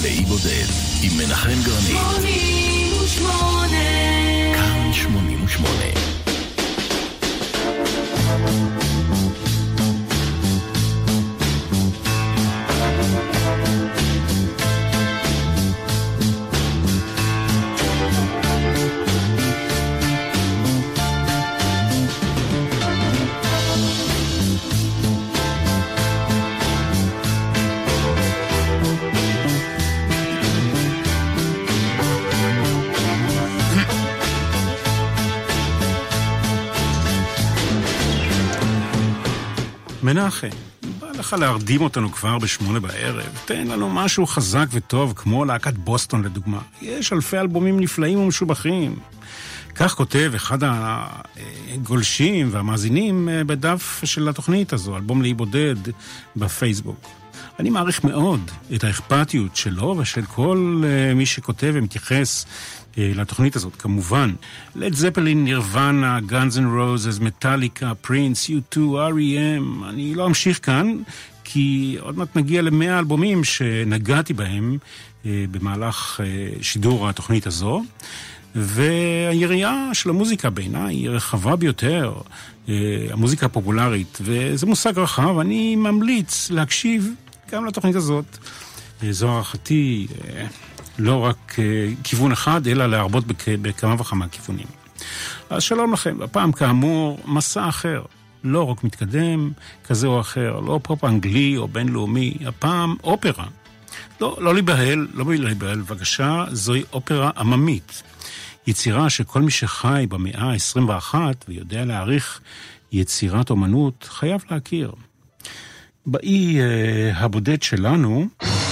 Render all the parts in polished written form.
לאי בודד עם מנחם גרנית. 88 כאן 88. מנחם, בא לך להרדים אותנו כבר ב8 בערב. תן לנו משהו חזק וטוב, כמו להקת בוסטון לדוגמה. יש אלפי אלבומים נפלאים ומשובחים. כך כותב אחד הגולשים והמאזינים בדף של התוכנית הזו, אלבום לאי בודד בפייסבוק. אני מעריך מאוד את האכפתיות שלו ושל כל מי שכותב ומתייחס לתוכנית הזאת, כמובן. לד זפלין, נירוונה, גאנז אנד רוזס, מטאליקה, פרינס, U2, R.E.M. אני לא אמשיך כאן, כי עוד מעט נגיע ל100 אלבומים שנגעתי בהם במהלך שידור התוכנית הזו. והיריעה של המוזיקה בעיניי היא רחבה ביותר, המוזיקה הפופולרית, וזה מושג רחב. אני ממליץ להקשיב גם לתוכנית הזאת. זו הערכתי, לא רק כיוון אחד, אלא להרבות בכמה וכמה כיוונים. אז שלום לכם, הפעם כאמור מסע אחר, לא רק מתקדם כזה או אחר, לא פופ אנגלי או בינלאומי, הפעם אופרה. לא להיבהל, בבקשה, זוהי אופרה עממית. יצירה שכל מי שחי במאה ה-21 ויודע להעריך יצירת אומנות חייב להכיר. באי הבודד שלנו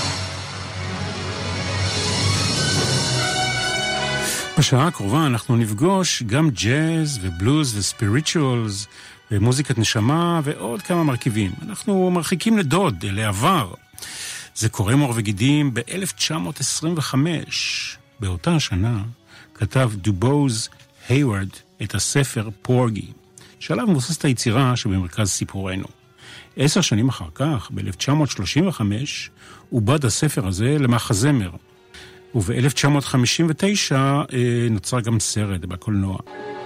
בשעה הקרובה אנחנו נפגוש גם ג'אז ובלוז וספיריטואלס ומוזיקת נשמה ועוד כמה מרכיבים. אנחנו מרחיקים לדוד, לעבר. זה קורם עור וגידים ב-1925. באותה השנה כתב דובוז היוורד את הספר פורגי, שעליו מבוססת היצירה שבמרכז סיפורנו. 10 שנים אחר כך, ב-1935, עובד הספר הזה למחזמר, וב-1959 נוצר גם סרט בקולנוע.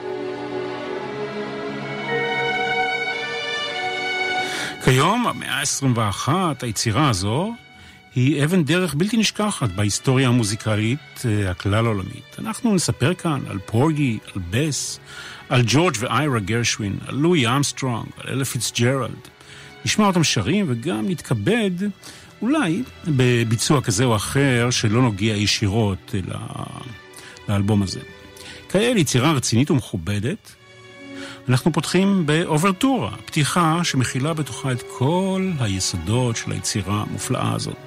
כיום, המאה ה-21, היצירה הזו היא אבן דרך בלתי נשכחת בהיסטוריה המוזיקלית הכלל עולמית. אנחנו נספר כאן על פורגי, על בס, על ג'ורג' ואיירה גרשווין, על לואי אמסטרונג, על אלה פיצג'רלד. נשמע אותם שרים וגם נתכבד אולי בביצוע כזה או אחר שלא נוגע ישירות לאלבום הזה. כאל יצירה רצינית ומכובדת, אנחנו פותחים באוברטורה, פתיחה שמכילה בתוכה את כל היסודות של היצירה המופלאה הזאת.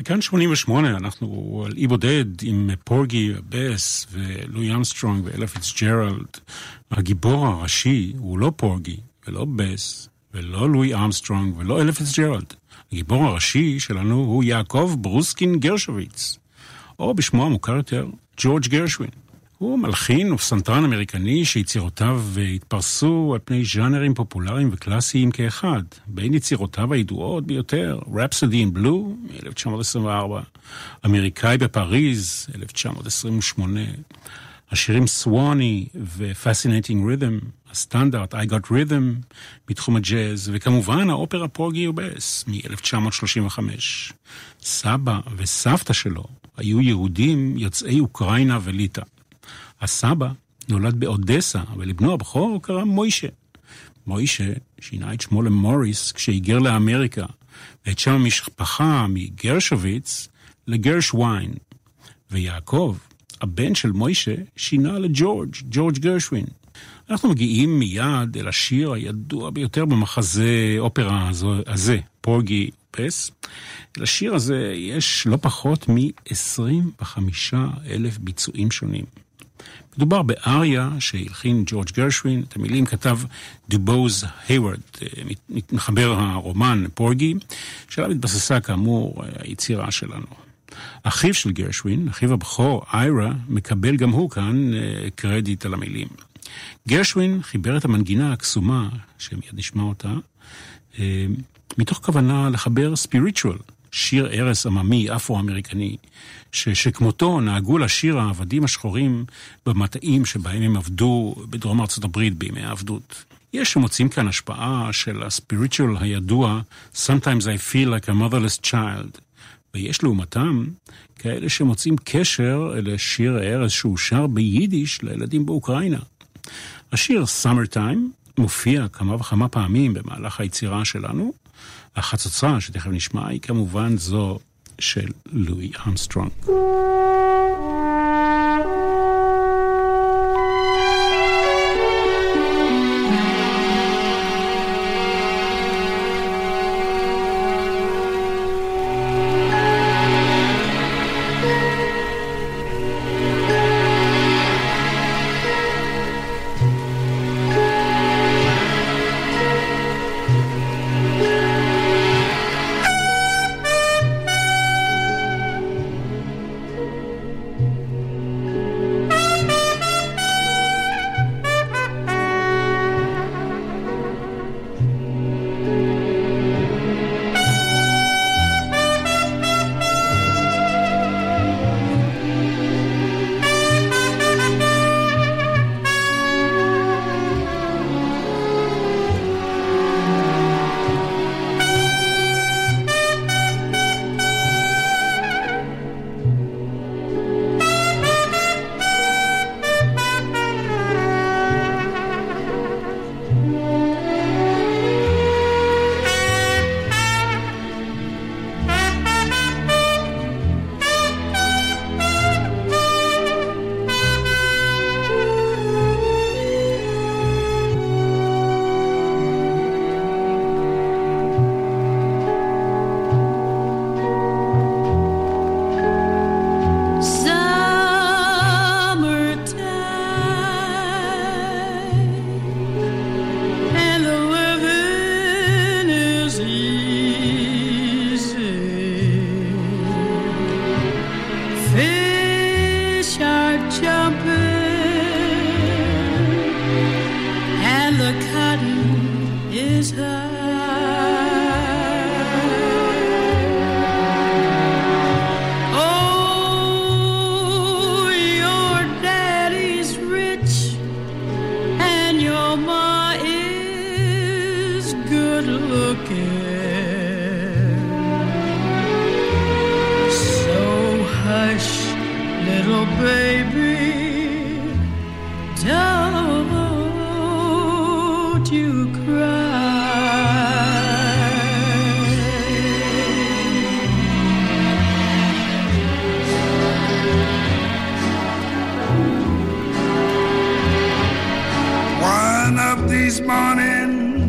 כאן 88, אנחנו על אי בודד עם פורגי בס ולואי אמסטרונג ואלה פיצג'רלד. הגיבור הראשי הוא לא פורגי ולא בס ולא לואי אמסטרונג ולא אלה פיצג'רלד. הגיבור הראשי שלנו הוא יעקב ברוסקין גרשוביץ, או בשמו המוכר יותר, ג'ורג' גרשווין. הוא מלחין ופסנתרן אמריקני שיצירותיו התפרסו על פני ז'אנרים פופולריים וקלאסיים כאחד. בין יצירותיו הידועות ביותר, Rhapsody in Blue, מ-1924, אמריקאי בפריז, 1928, השירים סווני ו-Fascinating Rhythm, הסטנדרט I Got Rhythm, בתחום הג'אז, וכמובן האופרה פורגי ובס, מ-1935. סבא וסבתא שלו היו יהודים יוצאי אוקראינה וליטא. הסבא נולד באודסה, ולבנו הבכור קרא מוישה. מוישה שינה את שמו למוריס כשהיגר לאמריקה, ואת שם המשפחה מגרשוביץ לגרשווין. ויעקב, הבן של מוישה, שינה לג'ורג' גרשווין. אנחנו מגיעים מיד אל השיר הידוע ביותר במחזה אופרה הזה, פורגי פס. לשיר הזה יש לא פחות מ-25,000 ביצועים שונים. מדובר באריה שהלחין ג'ורג' גרשווין, את המילים כתב דובוז היוורד, מחבר הרומן פורגי, שעליו התבססה כאמור היצירה שלנו. אחיו של גרשווין, אחיו הבכור, איירה, מקבל גם הוא כאן קרדיט על המילים. גרשווין חיבר את המנגינה הקסומה, שמיד נשמע אותה, מתוך כוונה לחבר ספיריטואל, שיר ערש עממי אפרו-אמריקני, שכמותו נהגו לשיר העבדים השחורים במטעים שבהם הם עבדו בדרום ארצות הברית בימי העבדות. יש שמוצאים כאן השפעה של הספיריטואל הידוע, Sometimes I feel like a motherless child, ויש לעומתם כאלה שמוצאים קשר לשיר הערש שהוא שר ביידיש לילדים באוקראינה. השיר Summertime מופיע כמה וכמה פעמים במהלך היצירה שלנו. החצוצרה שתכף נשמע היא כמובן זו של לואי אמסטרונג.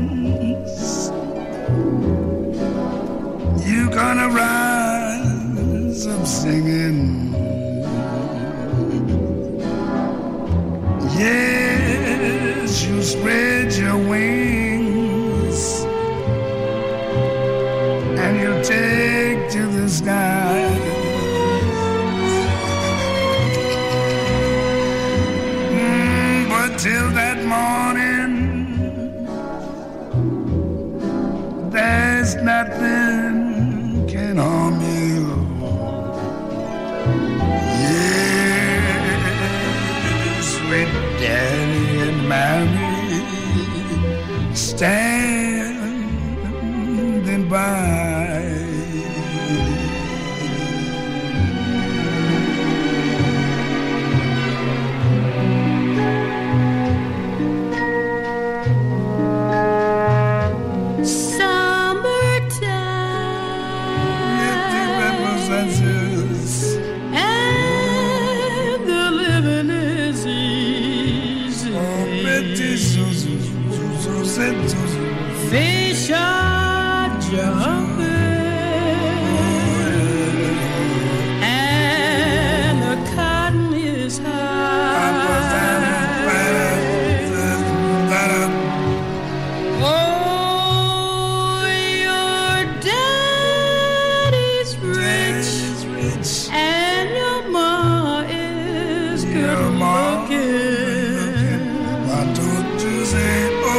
Gonna ride of singing. Yes, you spread your wings and you take to the sky. But till that morning, there's nothing can harm you. Yes, sweet daddy and mommy standing by. Fish are jumping and the cotton is high. Oh, your daddy's rich and your ma is good looking. Why don't you say,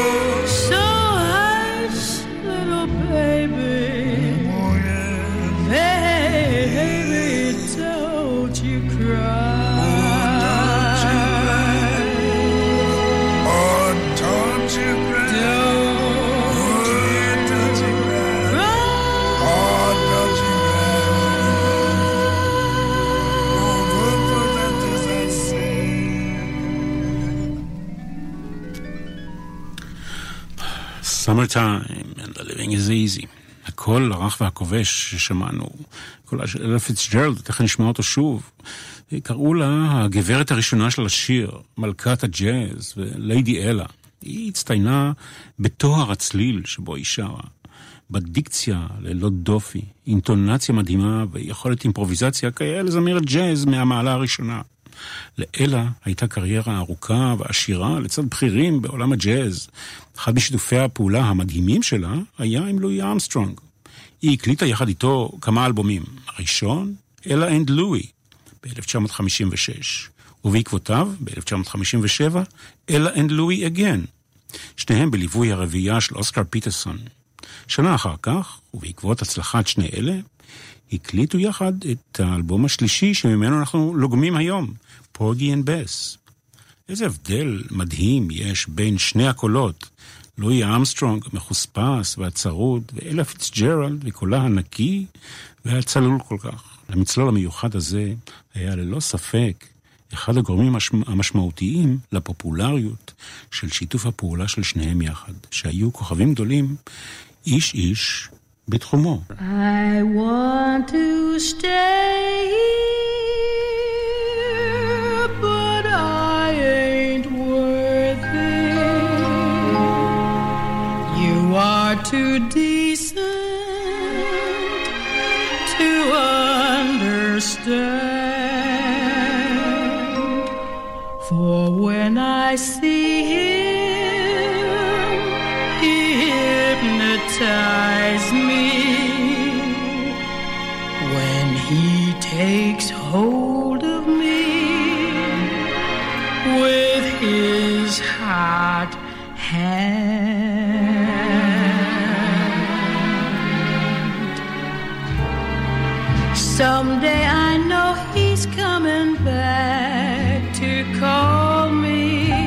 Summertime and the living is easy. הקול הרך והכובש ששמענו, קולה של אלה פיצג'רלד, תכף נשמע אותו שוב. קראו לה הגברת הראשונה של השיר, מלכת הג'אז וליידי אלה. היא הצטיינה בתואר הצליל שבו היא שרה, בדיקציה ללא דופי, אינטונציה מדהימה ויכולת אימפרוביזציה כאלה זמרת ג'אז מהמעלה הראשונה. לאלה הייתה קריירה ארוכה ועשירה לצד בכירים בעולם הג'אז. אחד משיתופי הפעולה המדהימים שלה היה עם לואי ארמסטרונג. היא הקליטה יחד איתו כמה אלבומים. הראשון, אלה אנד לואי, ב-1956, ובעקבותיו, ב-1957, אלה אנד לואי אגן. שניהם בליווי הרביעייה של אוסקר פיטרסון. שנה אחר כך, ובעקבות הצלחת שני אלה, הקליטו יחד את האלבום השלישי שממנו אנחנו לוגמים היום, פורגי אנד בס. איזה הבדל מדהים יש בין שני הקולות, לואי ארמסטרונג מחוספס והצרוד, ואלה פיצג'רלד וקולה הנקי והצלול כל כך. למצלול המיוחד הזה היה ללא ספק אחד הגורמים המשמעותיים לפופולריות של שיתוף הפעולה של שניהם יחד, שהיו כוכבים גדולים איש איש בתחומו. I want to stay here, but I ain't worth it. You are too decent to understand. For when I see him, he hypnotizes me. When he takes hold of me with his hot hand. Someday I know he's coming back to call me.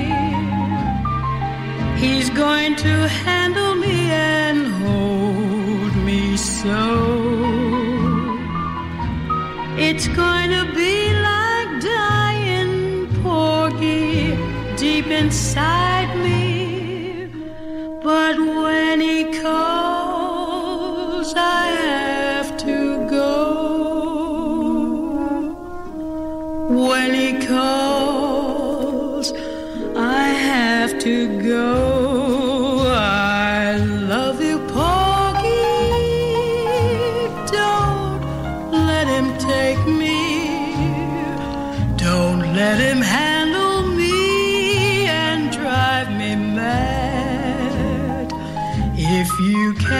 He's going to handle me and hold me so. It's going to be like dying, Porgy, deep inside me. But when he calls, I have to go. When he calls, I have to go. I love you, Porgy. Don't let him take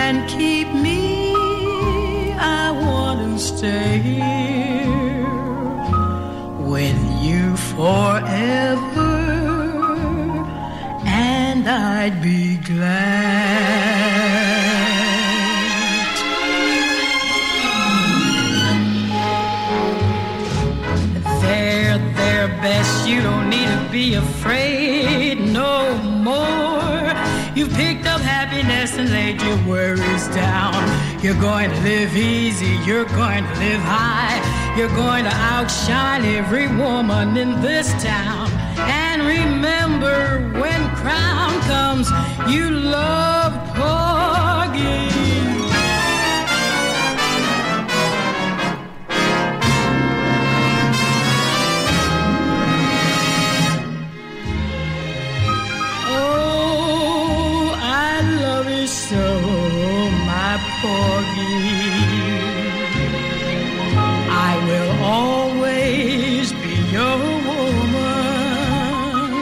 can keep me, I want to stay here with you forever, and I'd be glad. They're best, you don't need to be afraid no more. You've picked up happiness and laid your worries down. You're going to live easy, you're going to live high. You're going to outshine every woman in this town. And remember, when crown comes, you love Porgy. So, my Porgy, I will always be your woman.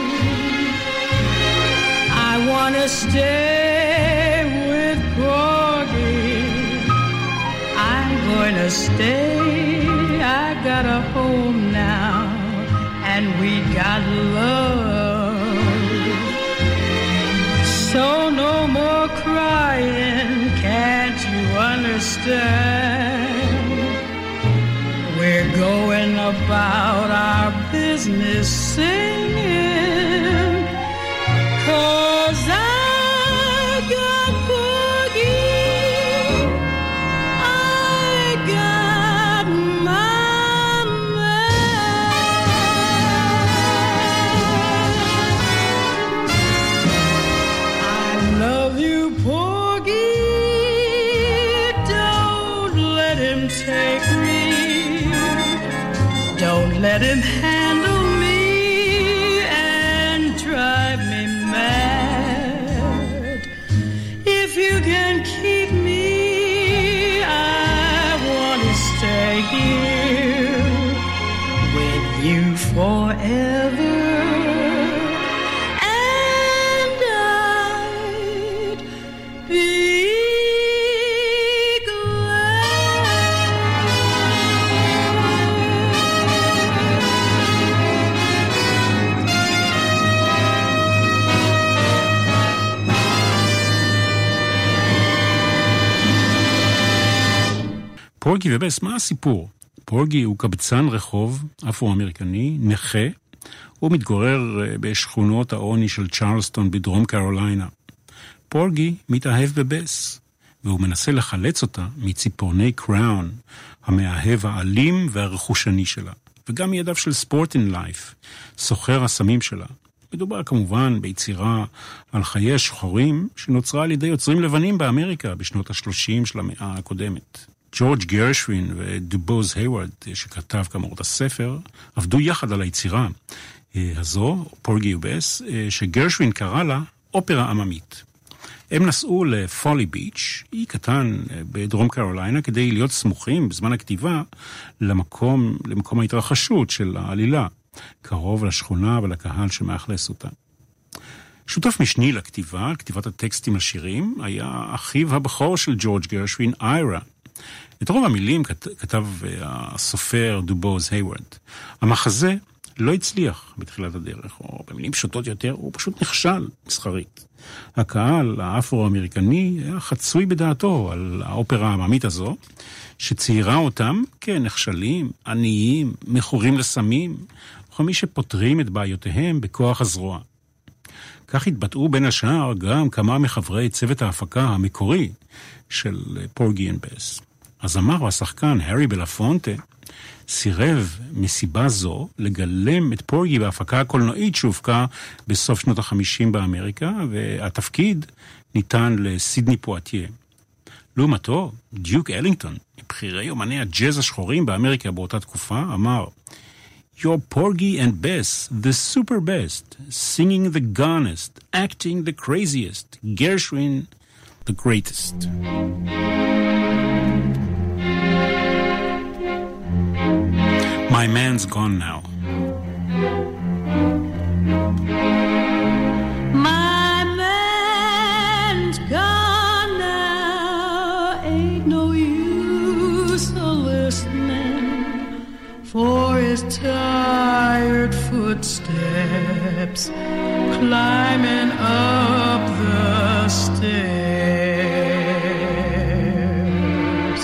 I want to stay with Porgy. I'm going to stay. I got a home now, and we got love. So no more crying, can't you understand? We're going about our business singing, 'cause I got Porgy, I got my man. I love you, Porgy, don't let him take me, don't let him handle me and drive me mad. If you can keep me, I want to stay here with you forever. פורגי ובס, מה הסיפור? פורגי הוא קבצן רחוב אפרו-אמריקני, נכה, הוא מתגורר בשכונות העוני של צ'רלסטון בדרום קרוליינה. פורגי מתאהב בבס, והוא מנסה לחלץ אותה מציפורני קראון, המאהב האלים והרכושני שלה, וגם מידיו של ספורטין לייף, סוחר הסמים שלה. מדובר כמובן ביצירה על חיי השחורים שנוצרה על ידי יוצרים לבנים באמריקה בשנות ה-30 של המאה הקודמת. ג'ורג' גרשווין ודובוז היוורד, שכתב כאמור את הספר, עבדו יחד על היצירה הזו, פורגי ובס, שגרשווין קרא לה אופרה עממית. הם נסעו לפולי ביץ', אי קטן בדרום קרוליינה, כדי להיות סמוכים בזמן הכתיבה למקום ההתרחשות של העלילה, קרוב לשכונה ולקהל שמאכלס אותה. שותף משני לכתיבה, כתיבת הטקסטים לשירים, היה אחיו הבכור של ג'ורג' גרשווין, איירה. את רוב המילים כתב הסופר דובוז היוורד. המחזה לא הצליח בתחילת הדרך, או במילים פשוטות יותר, הוא פשוט נכשל מסחרית. הקהל האפרו-אמריקני היה חצוי בדעתו על האופרה העממית הזו, שציירה אותם כנחשלים, עניים, מכורים לסמים, וכמי שפותרים את בעיותיהם בכוח הזרוע. כך התבטאו בין השאר גם כמה מחברי צוות ההפקה המקורי של פורגי אנד בס. הזמר והשחקן הארי בלפונטה סירב מסיבה זו לגלם את פורגי בהפקה הקולנועית שהופקה בסוף שנות ה-50 באמריקה, והתפקיד ניתן לסידני פואטיה. לעומתו, דיוק אלינגטון, מבחירי אומני הג'אז השחורים באמריקה באותה תקופה, אמר, You're Porgy and Bess, the super best, singing the gonest, acting the craziest, Gershwin the greatest. My man's gone now. My man's gone now. steps, climbing up the stairs.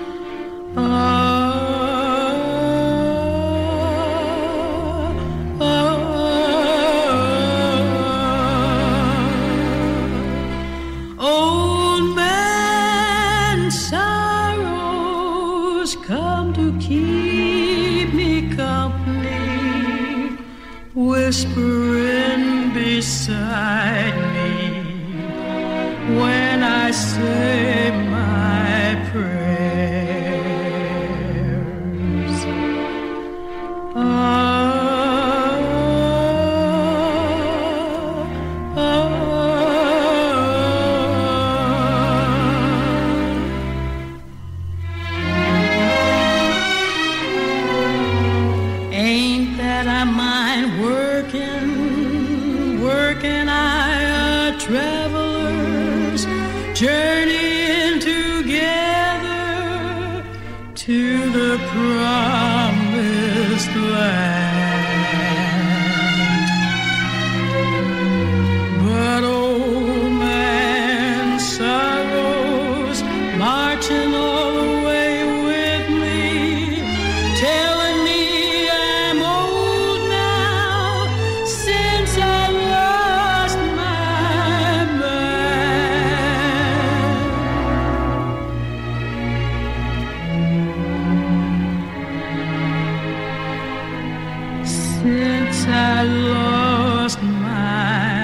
Old man sorrows come to keep me company, whispering beside me when I say my prayers. Ain't that I mind working travelers journeying together to the promised land. But old man sorrows marching all the way with me, telling me I'm old now since I lost my man. Since I lost my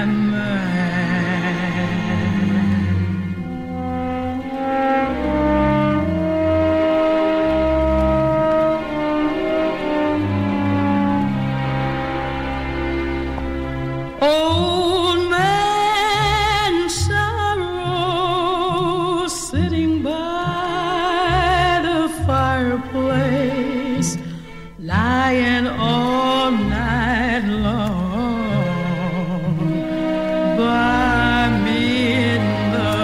old man sorrow sitting by the fireplace, lying all night long by me in the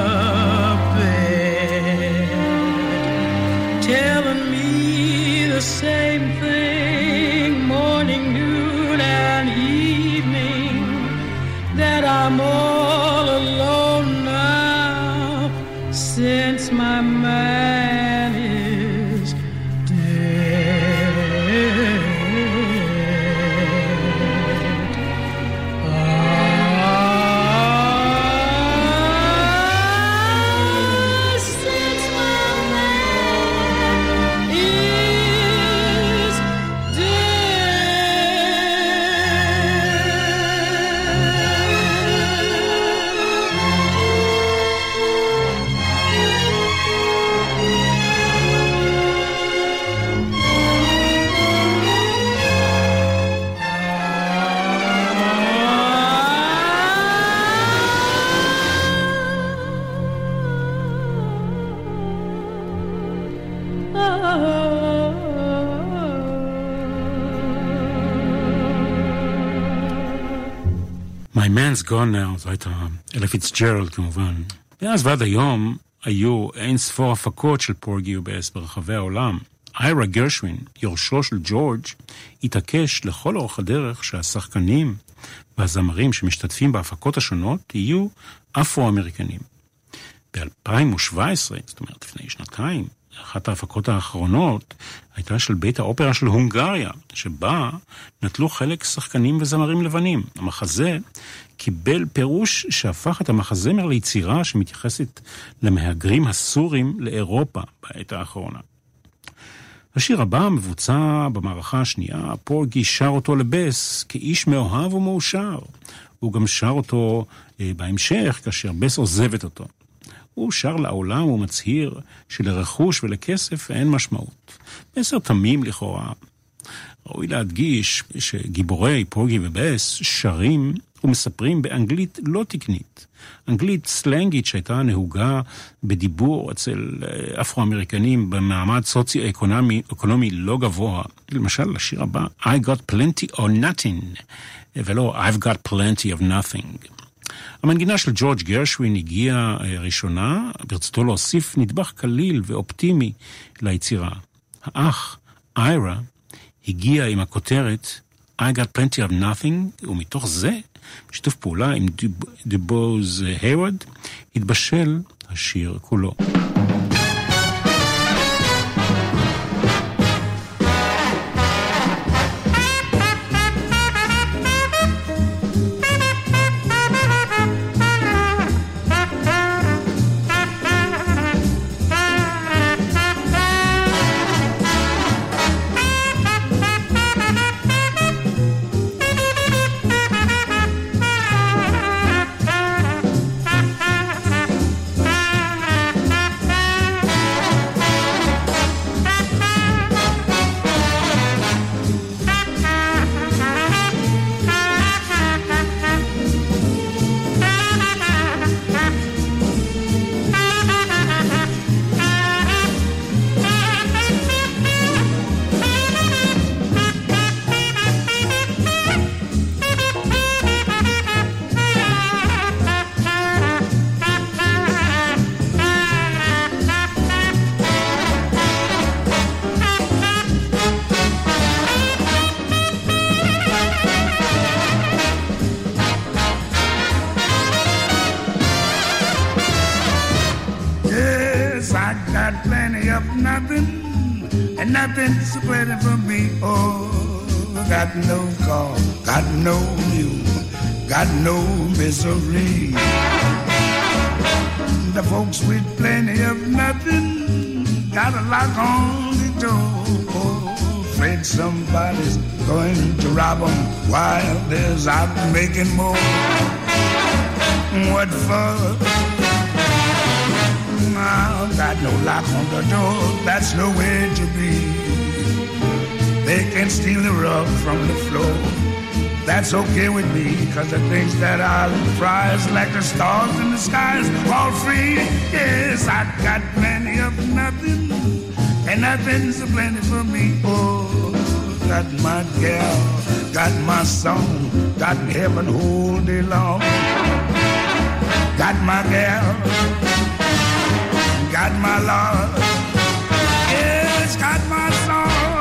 bed, telling me the same thing morning, noon, and evening, that I'm all alone now since my man is dead. Since my man is My Man's Gone Now, זו הייתה אלה פיצג'רלד כמובן. ואז ועד היום היו אין ספור הפקות של פורגי ובאס ברחבי העולם. איירה גרשווין, יורשו של ג'ורג', התעקש לכל אורך הדרך שהשחקנים והזמרים שמשתתפים בהפקות השונות יהיו אפרו-אמריקנים. ב-2017, זאת אומרת לפני שנתיים, אחת ההפקות האחרונות הייתה של בית האופרה של הונגריה, שבה נטלו חלק שחקנים וזמרים לבנים. המחזה קיבל פירוש שהפך את המחזמר ליצירה שמתייחסת למהגרים הסורים לאירופה בעת האחרונה. השיר הבא מבוצע במערכה השנייה, פורגי שר אותו לבס כאיש מאוהב ומאושר. הוא גם שר אותו בהמשך כאשר בס עוזבת אותו. הוא שר לעולם ומצהיר שלרכוש ולכסף אין משמעות. מסר תמים לכאורה. ראוי להדגיש שגיבורי פורגי ובס שרים ומספרים באנגלית לא תקנית. אנגלית סלנגית שהייתה נהוגה בדיבור אצל אפרו-אמריקנים במעמד סוציו-אקונומי לא גבוה. למשל, לשיר הבא, I got plenty or nothing, ולא I've got plenty of nothing. המנגינה של ג'ורג' גרשווין הגיעה ראשונה, ברצותו להוסיף נדבך קליל ואופטימי ליצירה. האח, איירה, הגיע עם הכותרת I Got Plenty of Nothing, ומתוך זה, בשיתוף פעולה עם דובוז היווד, התבשל השיר כולו. Nothing's waiting for me. Oh, got no call, got no mule, got no misery. The folks with plenty of nothing got a lock on the door. Oh, afraid somebody's going to rob them while there's out making more. What for? Got no lock on the door, that's no way to be. They can steal the rug from the floor. That's okay with me, cause the things that I prize, like the stars in the skies, all free. Yes, I got plenty of nothing, and nothing's plenty for me. Oh, got my gal, got my song, got heaven all day long. Got my gal, got my love, yes, got my song.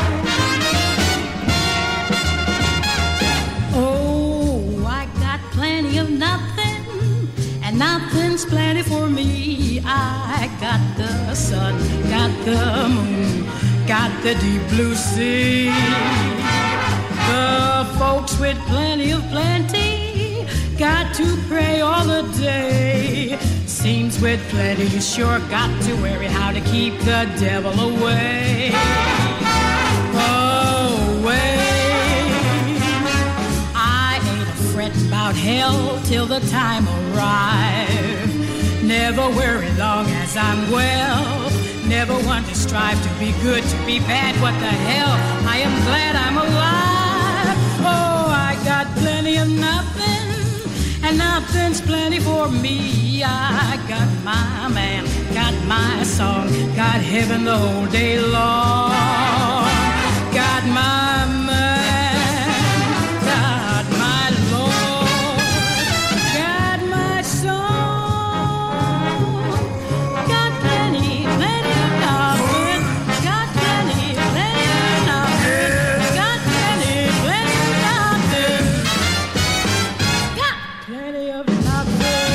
Oh, I got plenty of nothing, and nothing's plenty for me. I got the sun, got the moon, got the deep blue sea. The folks with plenty of plenty got to pray all the day. Seems with plenty you sure got to worry how to keep the devil away. Away. I ain't a fret about hell till the time arrive. Never worry long as I'm well. Never want to strive to be good, to be bad. What the hell? I am glad I'm alive. Oh, I got plenty of nothing, and nothing's plenty for me. I got my man, got my song, got heaven the whole day long. Got my man, got my Lord, got my song, got plenty, plenty of nothing, got plenty, plenty of nothing, got plenty, plenty of nothing, got plenty of nothing.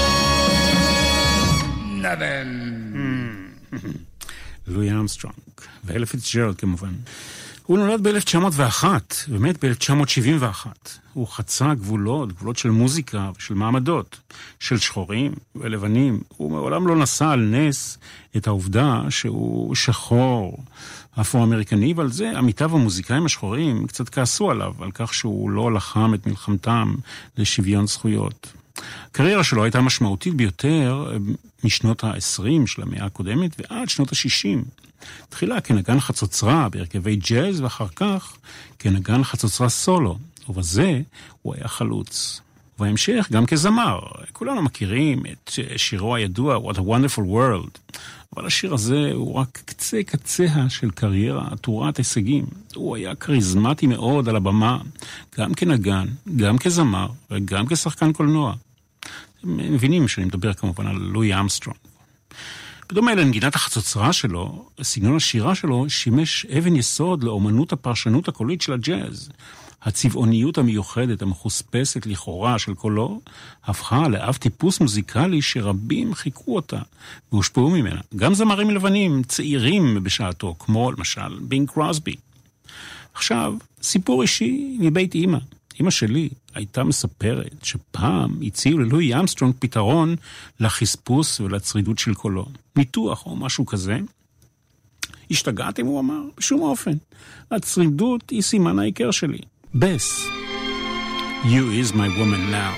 לואי ארמסטרונג, ואלה פיצג'רלד כמובן. הוא נולד ב-1901, ומת ב-1971. הוא חצה גבולות של מוזיקה ושל מעמדות, של שחורים ולבנים. הוא מעולם לא נשא על נס את העובדה שהוא שחור אפרו-אמריקני, ועל זה עמיתיו המוזיקאים השחורים קצת כעסו עליו, על כך שהוא לא לחם את מלחמתם לשוויון זכויות. הקריירה שלו הייתה משמעותית ביותר משנות ה-20 של המאה הקודמת ועד שנות ה-60. תחילה כנגן חצוצרה בהרכבי ג'אז, ואחר כך כנגן חצוצרה סולו, ובזה הוא היה חלוץ. ובהמשך גם כזמר. כולנו מכירים את שירו הידוע What a Wonderful World, אבל השיר הזה הוא רק קצה של קריירה עטורת הישגים. הוא היה קריזמטי מאוד על הבמה, גם כנגן, גם כזמר וגם כשחקן קולנוע. אתם מבינים שאני מדבר כמובן על לואי ארמסטרונג. בדומה לנגינת החצוצרה שלו, סגנון השירה שלו שימש אבן יסוד לאומנות הפרשנות הקולית של הג'אז. הצבעוניות המיוחדת המחוספסת לכאורה של קולו, הפכה לאב טיפוס מוזיקלי שרבים חיכו אותה והושפעו ממנה. גם זמרים לבנים צעירים בשעתו, כמו למשל בינג קרוסבי. עכשיו, סיפור אישי מבית אמא. אמא שלי הייתה מספרת שפעם הציעו ללואי אמסטרונג פתרון לחספוס ולצרידות של קולו. ניתוח או משהו כזה. השתגעתם, הוא אמר, בשום אופן. הצרידות היא סימן העיקר שלי. Bess, you is my woman now.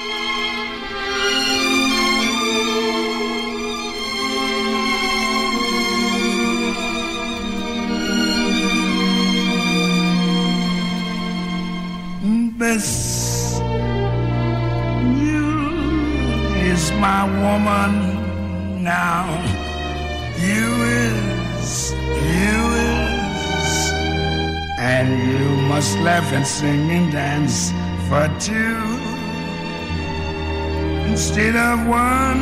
Bess, you is my woman now. You is, and you must laugh and sing and dance for two instead of one.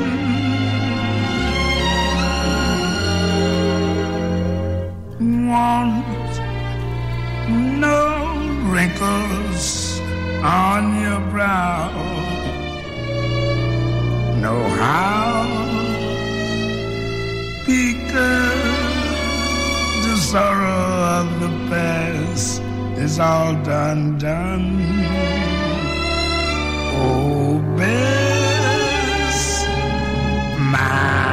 Want no wrinkles on your brow, know how, because the sorrow of the past is all done. Oh, Bess, my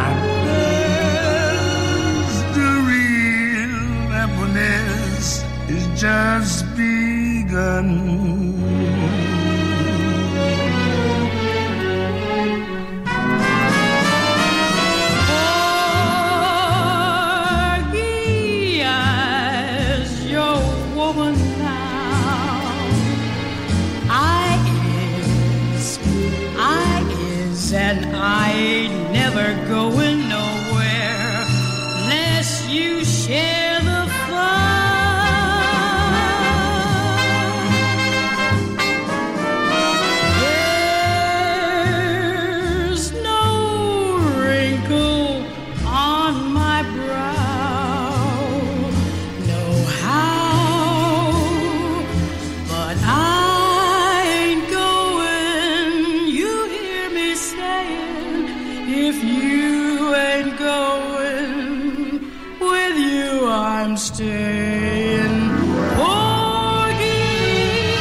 Bess, the real happiness is just begun. And I ain't never going nowhere unless you share the fun. There's no wrinkle on my brow, no how, but I ain't going. You hear me saying, if you ain't going, with you I'm staying. Porgy,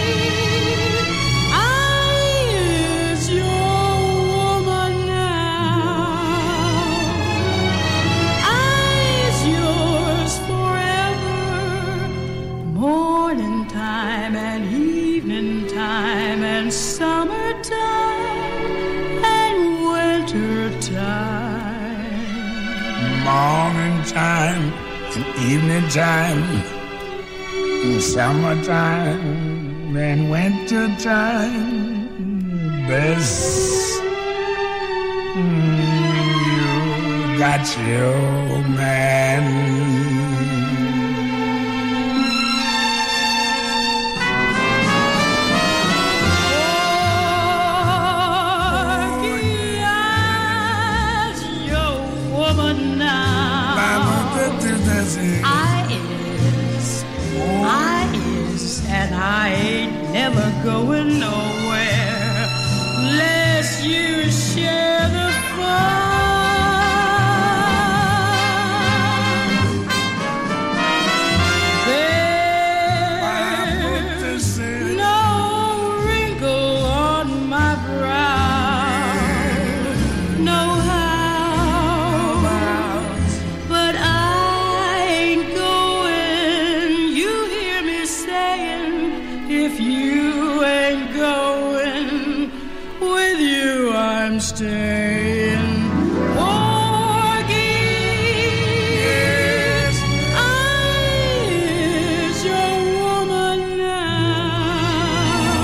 I is your woman now. I is yours forever. Morning time and evening time and summertime and winter time. Morning time and evening time, and summertime and winter time. Bess, you got your man. And I ain't never going nowhere unless you share the fun. There's no wrinkle on my brow, no how, but I ain't going. You hear me saying, if you ain't going, with you I'm staying. Porgy, yes, I is your woman now.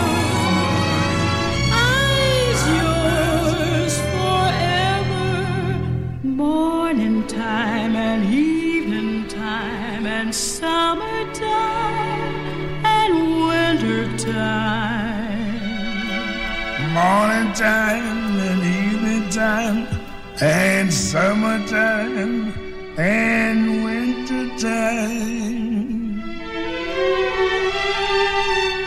I is yours forever. Morning time and evening time and summertime and winter time. Morning time and evening time and summertime and winter time.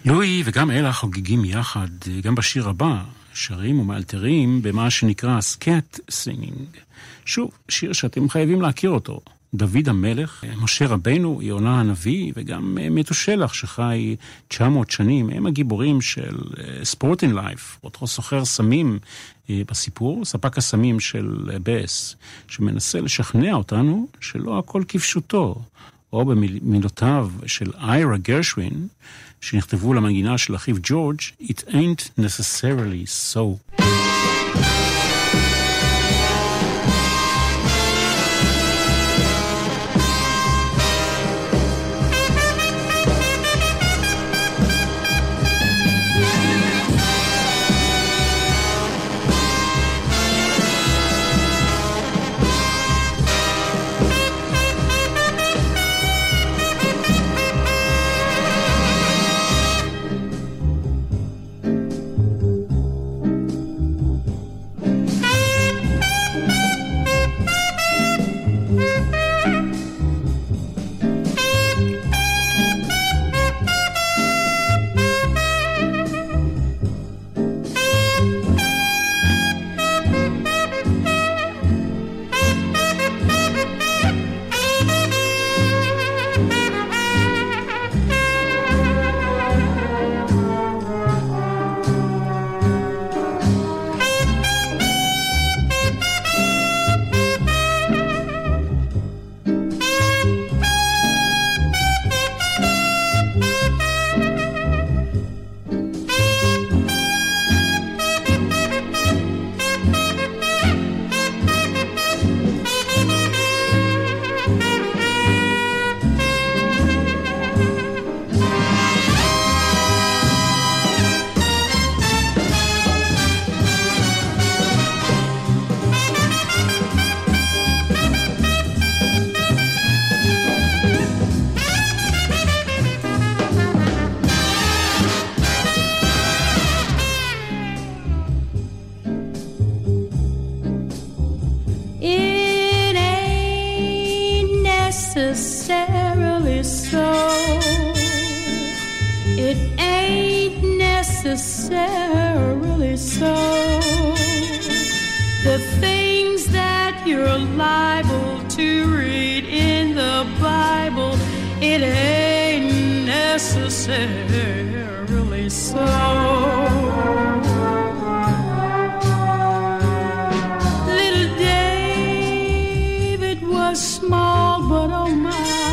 לואי וגם אלה חוגגים יחד, גם בשיר הבא, שרים ומאלתרים במה שנקרא סקט סינגינג. שוב, שיר שאתם חייבים להכיר אותו. דוד המלך, משה רבנו, יונה הנביא, וגם מתושלח שחי 900 שנים, הם הגיבורים של ספורטינג לייף, אותו סוחר סמים בסיפור, ספק הסמים של בס, שמנסה לשכנע אותנו שלא הכל כפשוטו, או במילותיו של איירה גרשווין, שנכתבו למנגינה של אחיו ג'ורג', It ain't necessarily so. necessarily so. It ain't necessarily so. The things that you're liable to read in the Bible, it ain't necessarily so. Little David was small, but oh my.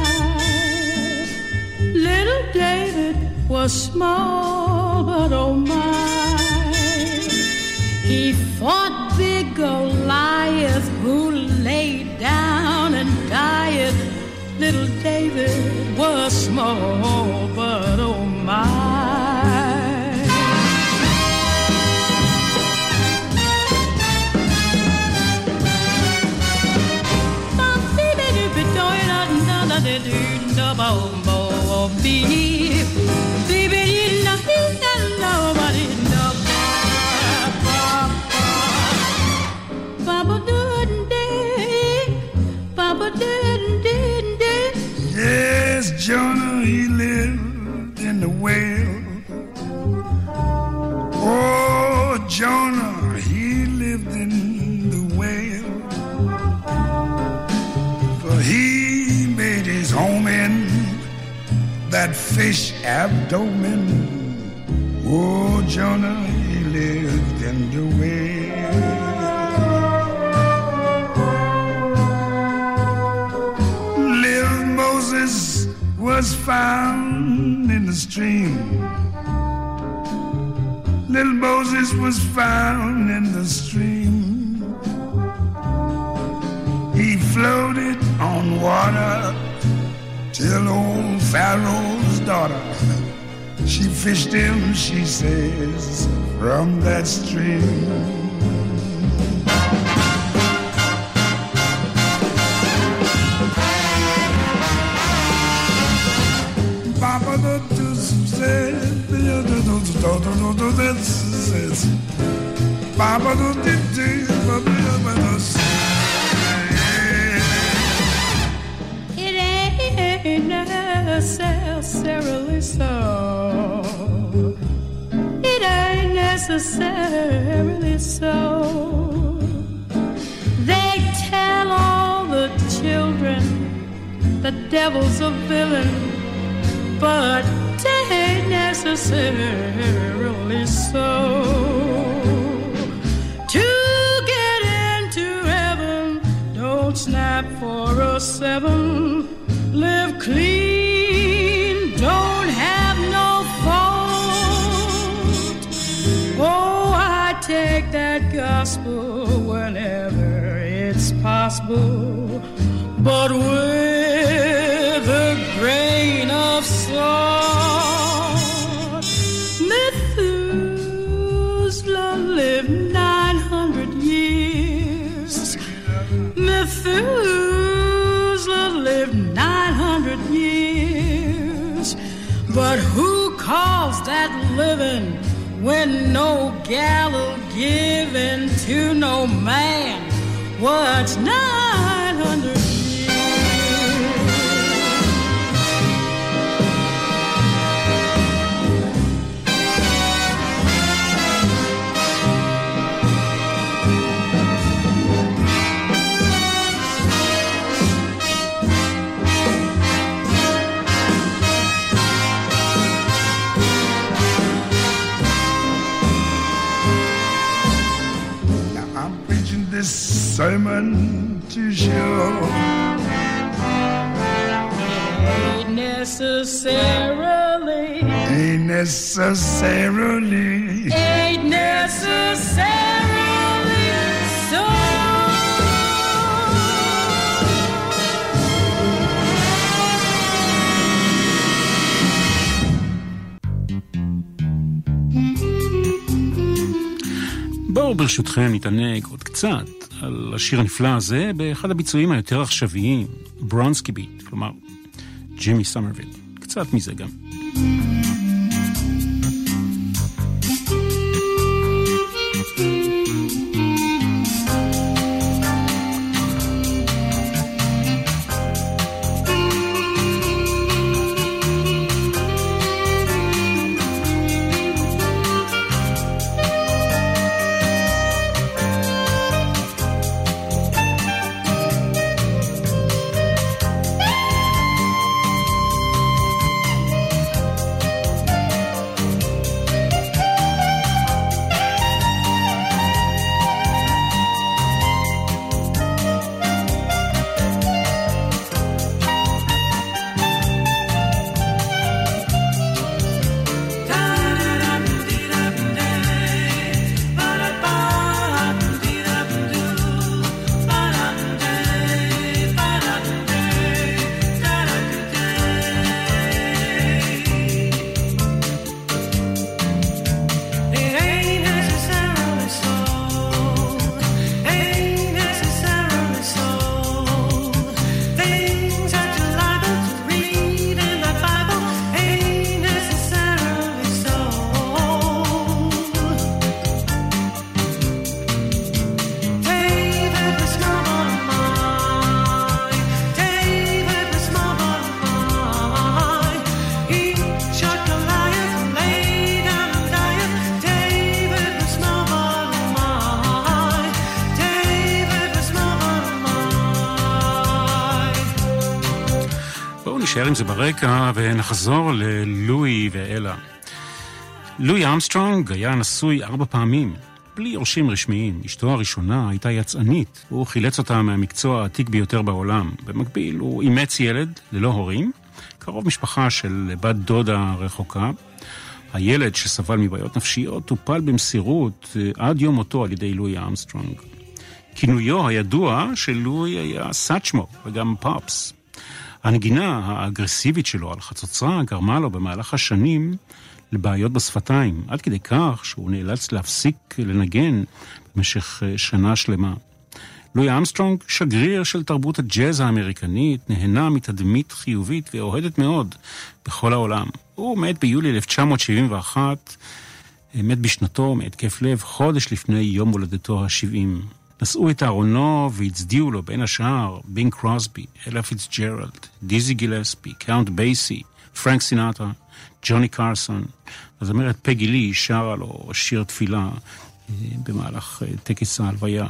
Little David was small, but oh my. He fought big Goliath, who lay down and died. Little David was small, but oh my. Yes, Jonah, he lived in the whale. Oh, Jonah, he lived in the whale. For he made his home in that fish abdomen. Oh, Jonah, he lived in the whale. Little Moses was found in the stream. Little Moses was found in the stream. He floated on water till old Pharaoh's daughter, she fished him, she says, from that stream. Papa It ain't necessarily so. necessarily so. They tell all the children the devil's a villain, but ain't necessarily so. To get into heaven, don't snap for a 7. Live clean, don't have no fault. Oh, I take that gospel whenever it's possible, but with a grain of salt. Methuselah lived 900 years. Methuselah lived 900 years. But who calls that living when no gallows given to no man? What's 900 years? Sermon to show ain't necessarily so. בואו ברשותכם נתענג עוד קצת על השיר הנפלא הזה באחד הביצועים היותר עכשוויים, ברונסקי ביט, כלומר ג'ימי סומרוויל. קצת מזה גם. נשאר עם זה ברקע ונחזור ללואי ואלה. לואי ארמסטרונג היה נשוי 4 פעמים, בלי יורשים רשמיים. אשתו הראשונה הייתה יצאנית, הוא חילץ אותה מהמקצוע העתיק ביותר בעולם. במקביל הוא אימץ ילד ללא הורים, קרוב משפחה של בת דודה רחוקה. הילד שסבל מבעיות נפשיות טופל במסירות עד יום מותו על ידי לואי ארמסטרונג. כינויו הידוע של לואי היה סאצ'מו וגם פופס. הנגינה האגרסיבית שלו על חצוצרה גרמה לו במהלך השנים לבעיות בשפתיים, עד כדי כך שהוא נאלץ להפסיק לנגן במשך שנה שלמה. לואי ארמסטרונג, שגריר של תרבות הג'אז האמריקנית, נהנה מתדמית חיובית ואוהדת מאוד בכל העולם. הוא מת ביולי 1971, מת בשנתו מהתקף לב חודש לפני יום הולדתו ה-70. נשאו את ארונו והצדיעו לו בין השאר בינג קרוסבי, אלה פיטסג'רלד, דיזי גילספי, קאונט בייסי, פרנק סינטרה, ג'וני קרסון. הזמרת פגי לי שרה לו שיר תפילה במהלך טקס ההלוויה.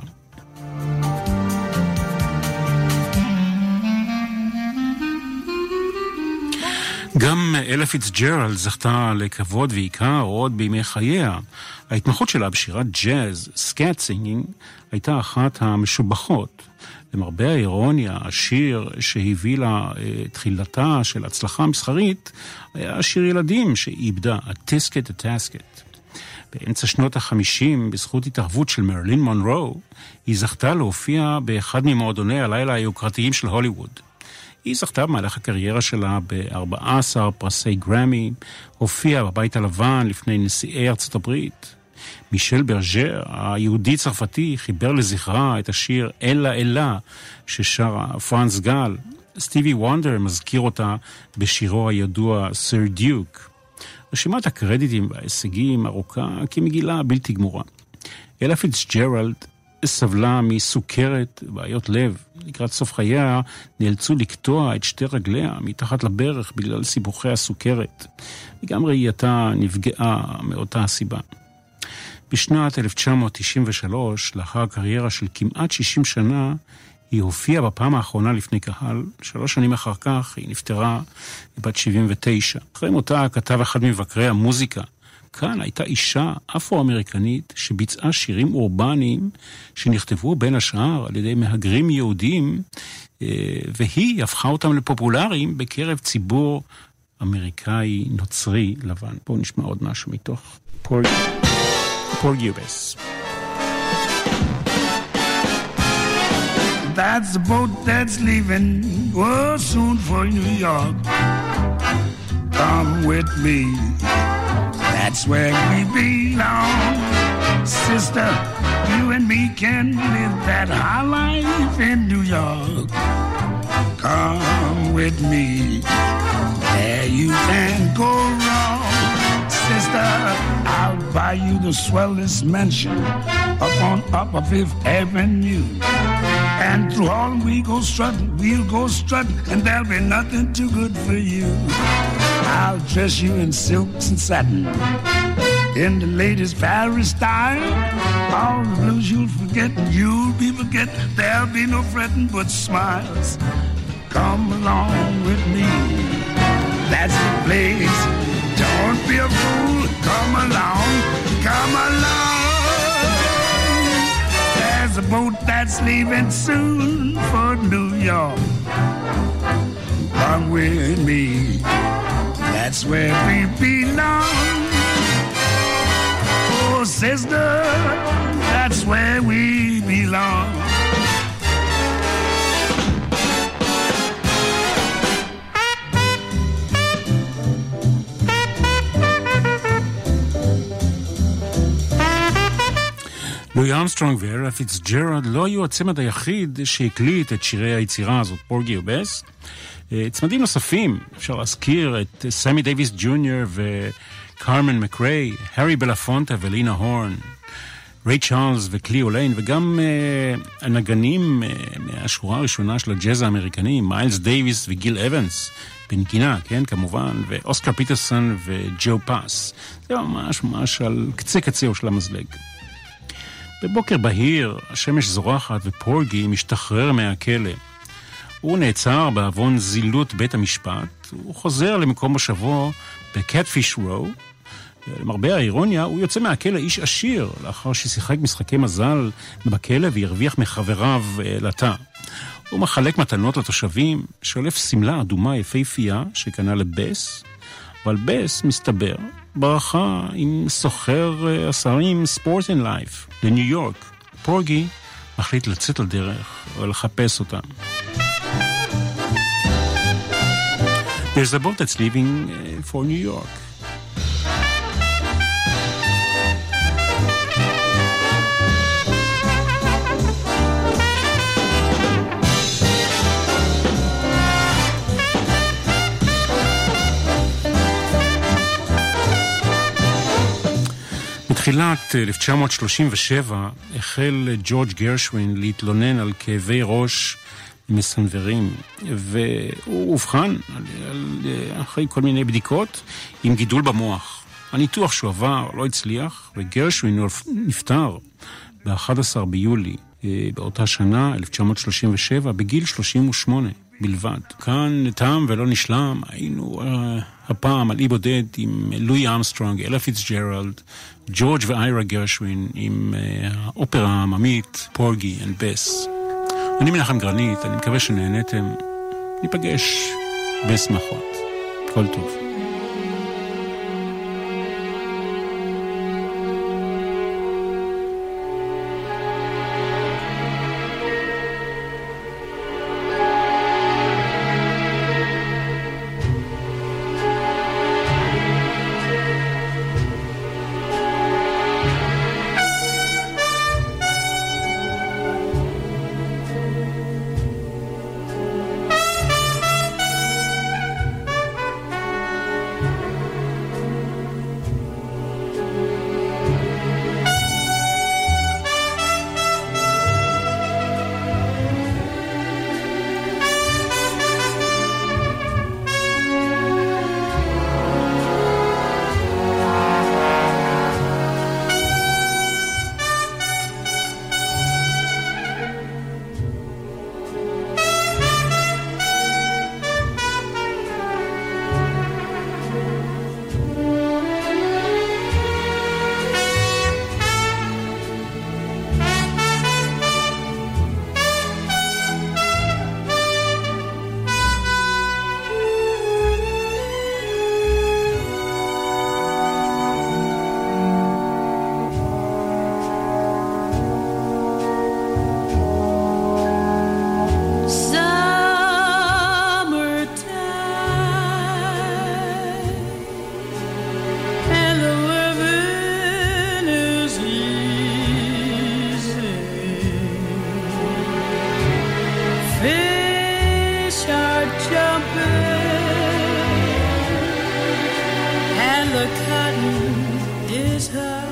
גם אלה פיצג'רלד זכתה לכבוד ועיקר עוד בימי חייה. ההתמחות שלה בשירת ג'אז, סקאט סינגינג, הייתה אחת המשובחות. למרבה האירוניה, השיר שהביא לה תחילתה של הצלחה מסחרית, היה שיר ילדים שאיבדה, הטיסקט הטסקט. באמצע שנות ה-50, בזכות התערבות של מרלין מונרו, היא זכתה להופיע באחד ממועדוני הלילה היוקרתיים של הוליווד. היא זכתה במהלך הקריירה שלה ב-14 פרסי גרמי, הופיעה בבית הלבן לפני נשיאי ארצות הברית. מישל ברג'ר, היהודי צרפתי, חיבר לזכרה את השיר אלה אלה ששרה פרנס גל. סטיבי וונדר מזכיר אותה בשירו הידוע סר דיוק. רשימת הקרדיטים וההישגים ארוכה כמגילה בלתי גמורה. אלה פיצג'רלד סבלה מסוכרת, בעיות לב. לקראת סוף חייה נאלצו לקטוע את שתי רגליה מתחת לברך בגלל סיבוכי הסוכרת. וגם ראייתה נפגעה מאותה הסיבה. בשנת 1993, לאחר קריירה של כמעט 60 שנה, היא הופיעה בפעם האחרונה לפני קהל. 3 שנים אחר כך היא נפטרה בת 79. אחרי מותה כתב אחד מבקרי המוזיקה, כאן הייתה אישה אפרו-אמריקנית שביצעה שירים אורבניים שנכתבו בין השאר על ידי מהגרים יהודים, והיא הפכה אותם לפופולריים בקרב ציבור אמריקאי נוצרי לבן. בואו נשמע עוד משהו מתוך Porgy-Bess. That's the boat that's leaving, oh, soon for New York. Come with me, that's where we belong. Sister, you and me can live that high life in New York. Come with me, there you can't go wrong. Sister, I'll buy you the swellest mansion up on Upper Fifth Avenue. And through all we go strutting, we'll go strutting, and there'll be nothing too good for you. I'll dress you in silks and satin, in the latest Paris style. All the blues you'll forget, and you'll be forget. There'll be no fretting but smiles. Come along with me, that's the place. Don't be a fool, come along, come along. There's a boat that's leaving soon for New York. Come with me, that's where we belong. Oh, sister, that's where we belong. לואי ארמסטרונג ואלה פיצג'רלד לא היו הצמד היחיד שהקליט את שירי היצירה הזאת, Porgy-Bess. צמדים נוספים, אפשר להזכיר את סמי דייביס ג'וניור וקרמן מקריי, הרי בלפונטה ולינה הורן, ריי צ'ארלס וקליו ליין, וגם הנגנים מהשורה הראשונה של הג'אז האמריקני, מיילס דייביס וגיל אבנס, בנגינה, כן, כמובן, ואוסקר פיטרסון וג'ו פאס. זה ממש על קצה קצהו של המזלג. בבוקר בהיר, השמש זורחת ופורגי משתחרר מהכלא. הוא נעצר בעוון זילות בית המשפט, הוא חוזר למקום מושבו בקטפיש רו. למרבה האירוניה, הוא יוצא מהכלא איש עשיר, לאחר ששיחק משחקי מזל בכלא והרוויח מחבריו לתא. הוא מחלק מתנות לתושבים, שולף סמלה אדומה יפהפייה שקנה לבס, אבל בס מסתבר ברכה עם סוחר הסרטים ספורט אנד לייף לניו יורק. פורגי מחליט לצאת לדרך ולחפש אותם. There's a boat that's leaving for New York. בתחילת 1937 החל ג'ורג' גרשווין להתלונן על כאבי ראש מסנברים, והוא אובחן אחרי כל מיני בדיקות עם גידול במוח. הניתוח שהוא עבר לא הצליח, וגרשווין נפטר ב-11 ביולי באותה שנה, 1937, בגיל 38 בלבד. כאן תם ולא נשלם, היינו הפעם על אי בודד עם לואי אמסטרונג, אלה פיצג'רלד, ג'ורג' ואיירה גרשווין, עם האופרה העממית, פורגי אנד בס. אני מנחם גרנית, אני מקווה שנהנתם. ניפגש בשמחות. כל טוב. The cotton is high.